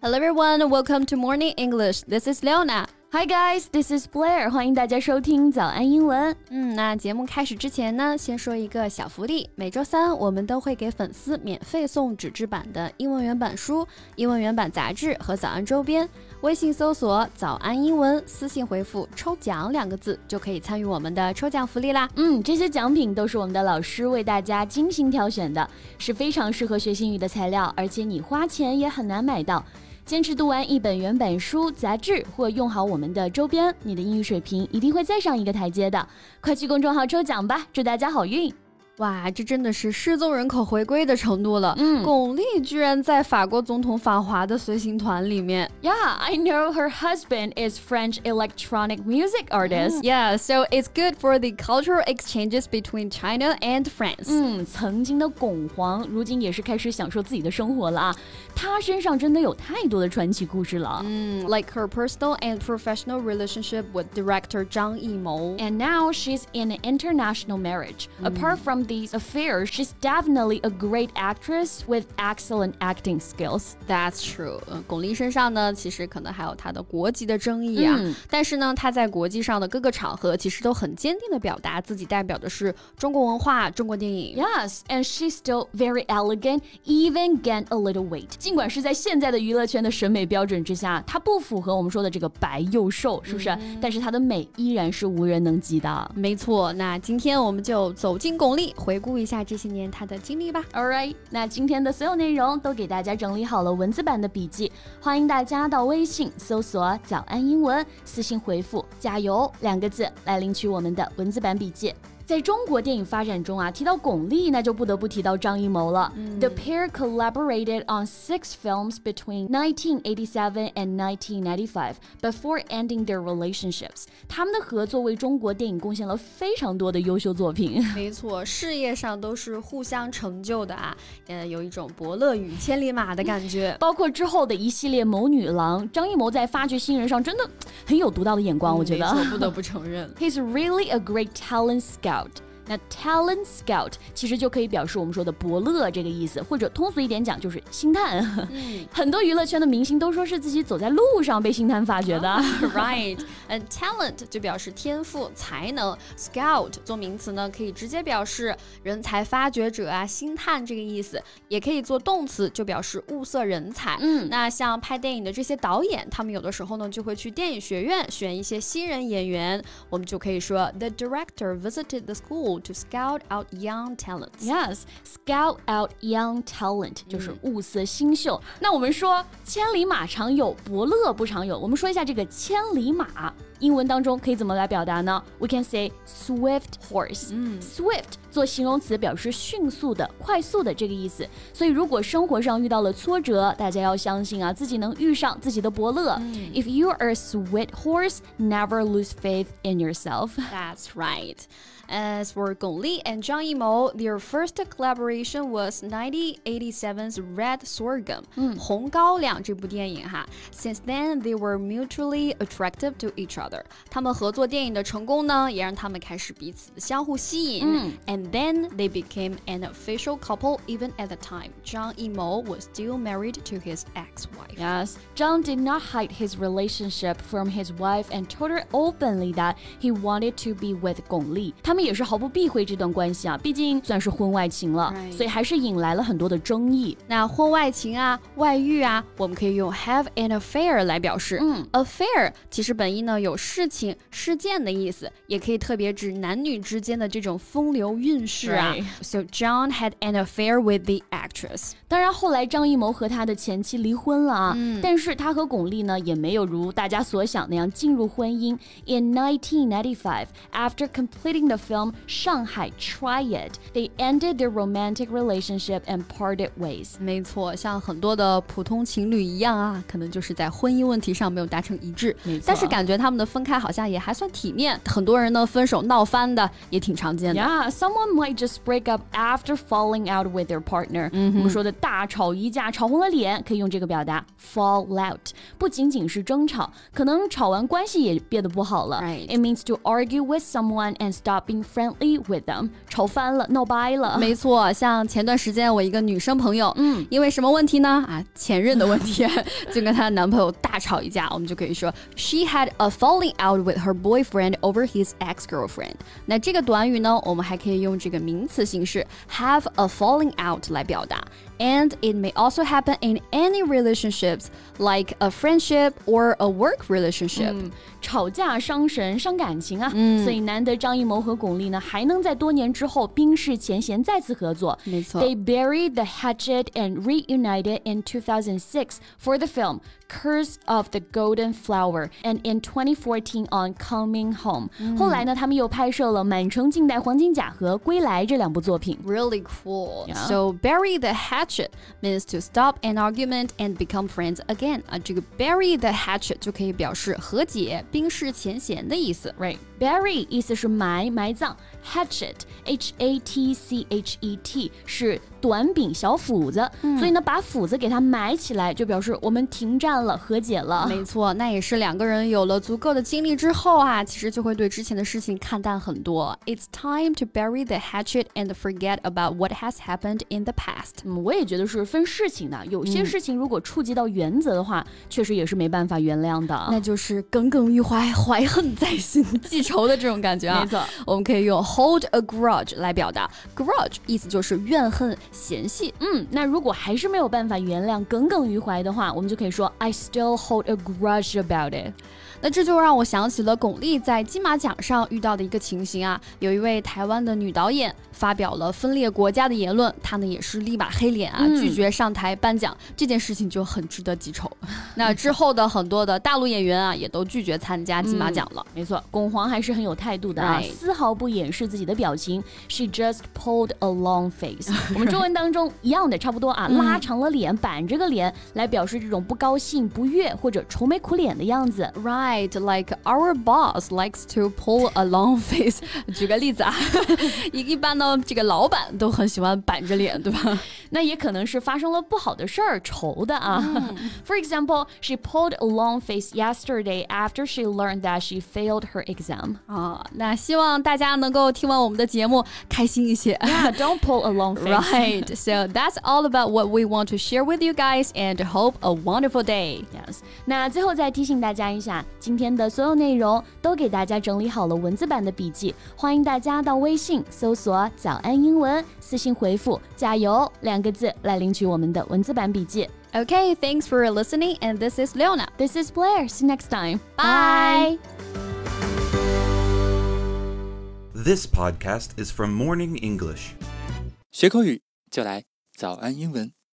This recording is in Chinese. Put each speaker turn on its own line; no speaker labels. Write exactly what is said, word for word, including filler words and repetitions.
Hello everyone, welcome to Morning English. This is Leona.Hi
guys, this is Blair. 欢迎大家收听早安英文。
嗯，那节目开始之前呢，先说一个小福利。每周三我们都会给粉丝免费送纸质版的英文原版书、英文原版杂志和早安周边。微信搜索早安英文，私信回复抽奖两个字就可以参与我们的抽奖福利啦。
嗯，这些奖品都是我们的老师为大家精心挑选的，是非常适合学英语的材料，而且你花钱也很难买到。坚持读完一本原版书、杂志或用好我们的周边，你的英语水平一定会再上一个台阶的。快去公众号抽奖吧，祝大家好运！
哇，这真的是失踪人口回归的程度了。
嗯，
巩俐居然在法国总统访华的随行团里面。
Yeah, I know her husband is French electronic music artist.
Yeah, so it's good for the cultural exchanges between China and France.
嗯，曾经的巩皇，如今也是开始享受自己的生活了啊。她身上真的有太多的传奇故事了。
嗯 like her personal and professional relationship with director 张艺谋.
And now she's in an international marriage. Apart from these affairs, she's definitely a great actress with excellent acting skills.
That's true. 呃，巩俐身上呢，其实可能还有她的国籍的争议啊。
嗯，
但是呢，她在国际上的各个场合，其实都很坚定地表达自己代表的是中国文化、中国电影。
Yes, and she's still very elegant, even gained a little weight. 尽管是在现在的娱乐圈的审美标准之下，她不符合我们说的这个白又瘦，是不是？嗯，但是她的美依然是无人能及的。
没错，那今天我们就走进巩俐，回顾一下这些年她的经历吧。
Alright, 那今天的所有内容都给大家整理好了文字版的笔记，欢迎大家到微信搜索早安英文，私信回复加油两个字来领取我们的文字版笔记。在中国电影发展中啊，提到巩俐，那就不得不提到张艺谋了。嗯， The pair collaborated on six films between nineteen eighty-seven and nineteen ninety-five before ending their relationships. 他们的合作为中国电影贡献了非常多的优秀作品。
没错，事业上都是互相成就的啊，呃，有一种伯乐与千里马的感觉。
包括之后的一系列谋女郎，张艺谋在发掘新人上真的很有独到的眼光，我觉得。
没错，不得不承认。
He's really a great talent scout.那 talent scout 其实就可以表示我们说的伯乐这个意思，或者通俗一点讲就是星探。嗯，很多娱乐圈的明星都说是自己走在路上被星探发掘的。
Oh, right, and talent 就表示天赋、才能 ，scout 做名词呢，可以直接表示人才发掘者啊、星探这个意思，也可以做动词，就表示物色人才。
嗯，
那像拍电影的这些导演，他们有的时候呢就会去电影学院选一些新人演员，我们就可以说 The director visited the school.To scout out young talents.
Yes, scout out young talent 就是物色新秀。嗯，那我们说千里马常有，伯乐不常有。我们说一下这个千里马，英文当中可以怎么来表达呢？ We can say swift horse. 嗯，swift 做形容词表示迅速的、快速的这个意思。所以如果生活上遇到了挫折，大家要相信啊，自己能遇上自己的伯乐。嗯，If you are a swift horse, never lose faith in yourself.
That's right.As for Gong Li and Zhang Yimou, their first collaboration was nineteen eighty-seven's Red Sorghum,
嗯，
红高粱这部电影哈。Since then, they were mutually attractive to each other. 他们合作电影的成功呢，也让他们开始彼此的相互吸引。
嗯
And then they became an official couple. Even at the time, Zhang Yimou was still married to his ex-wife.
Yes, Zhang did not hide his relationship from his wife and told her openly that he wanted to be with Gong Li. 他们也是毫不避讳这段关系啊，毕竟算是婚外情了，
Right.
所以还是引来了很多的争议。
那婚外情啊、外遇啊，我们可以用 have an affair 来表示。
嗯
affair 其实本意呢有事情、事件的意思，也可以特别指男女之间的这种风流韵事啊。
Right.
So John had an affair with the actress.
当然后来张艺谋和他的前妻离婚了啊，
嗯，
但是他和巩俐呢也没有如大家所想那样进入婚姻。In nineteen ninety-five, after completing the film Shanghai Try It, they ended their romantic relationship and parted ways.
没错，像很多的普通情侣一样啊，可能就是在婚姻问题上没有达成一致。
没错，
但是感觉他们的分开好像也还算体面，很多人呢分手闹翻的也挺常见的。
Yeah, some someone might just break up after falling out with their partner、嗯、我们说的大吵一架吵红了脸可以用这个表达 fall out， 不仅仅是争吵，可能吵完关系也变得不好了、
right.
It means to argue with someone and stop being friendly with them， 吵翻了闹掰了。
没错，像前段时间我一个女生朋友、
嗯、
因为什么问题呢啊，前任的问题就跟她男朋友大吵一架，我们就可以说 She had a falling out with her boyfriend over his ex-girlfriend。 那这个短语呢，我们还可以用这个名词形式 have a falling out 来表达。And it may also happen in any relationships, like a friendship or a work relationship.
嗯、吵架伤神伤感情啊、嗯、所以难得张艺谋和巩俐呢还能在多年之后冰释前嫌再次合作。
没错
They buried the hatchet and reunited in two thousand six for the film Curse of the Golden Flower and in twenty fourteen on Coming Home、嗯、后来呢他们又拍摄了满城尽带黄金甲和归来这两部作品。
Really cool、yeah.
So
bury the hatchet means to stop an argument and become friends again、啊、这个 bury the hatchet 就可以表示和解冰释前嫌的意思。
Right， bury 意思是埋埋葬， hatchet H A T C H E T 是短柄小斧子、嗯、所以呢把斧子给它埋起来就表示我们停战了和解了。
没错，那也是两个人有了足够的经历之后啊，其实就会对之前的事情看淡很多。 It's time to bury the hatchet and forget about what has happened in the past、
嗯、我也觉得是分事情的，有些事情如果触及到原则的话、嗯、确实也是没办法原谅的，
那就是耿耿于怀怀恨在心记仇的这种感觉啊。
没错，
我们可以用 hold a grudge 来表达， grudge 意思就是怨恨嫌隙。
嗯，那如果还是没有办法原谅耿耿于怀的话，我们就可以说 I still hold a grudge about it。
那这就让我想起了巩俐在金马奖上遇到的一个情形啊，有一位台湾的女导演发表了分裂国家的言论，她呢也是立马黑脸啊、嗯，拒绝上台颁奖，这件事情就很值得记仇。那之后的很多的大陆演员啊，也都拒绝参加金马奖了。
嗯、没错，巩皇还是很有态度的啊，丝毫不掩饰自己的表情。She just pulled a long face 。我们中文当中一样的，差不多啊，嗯、拉长了脸，板着个脸来表示这种不高兴、不悦或者愁眉苦脸的样子。
Right. Like our boss likes to pull a long face 举个例子啊一般呢这个老板都很喜欢板着脸，对吧？
那也可能是发生了不好的事儿愁的啊、嗯、For example, she pulled a long face yesterday after she learned that she failed her exam
啊，那希望大家能够听完我们的节目开心一些。
Yeah, don't pull a long face.
Right, so that's all about what we want to share with you guys and hope a wonderful day.
Yes. 那最后再提醒大家一下，今天的所有内容都给大家整理好了文字版的笔记，欢迎大家到微信搜索早安英文，私信回复加油两个字来领取我们的文字版笔记。
Okay, thanks for listening and this is Leona.
This is Blair. See you next time.
Bye.
This podcast is from Morning English.
学口语就来早安英文。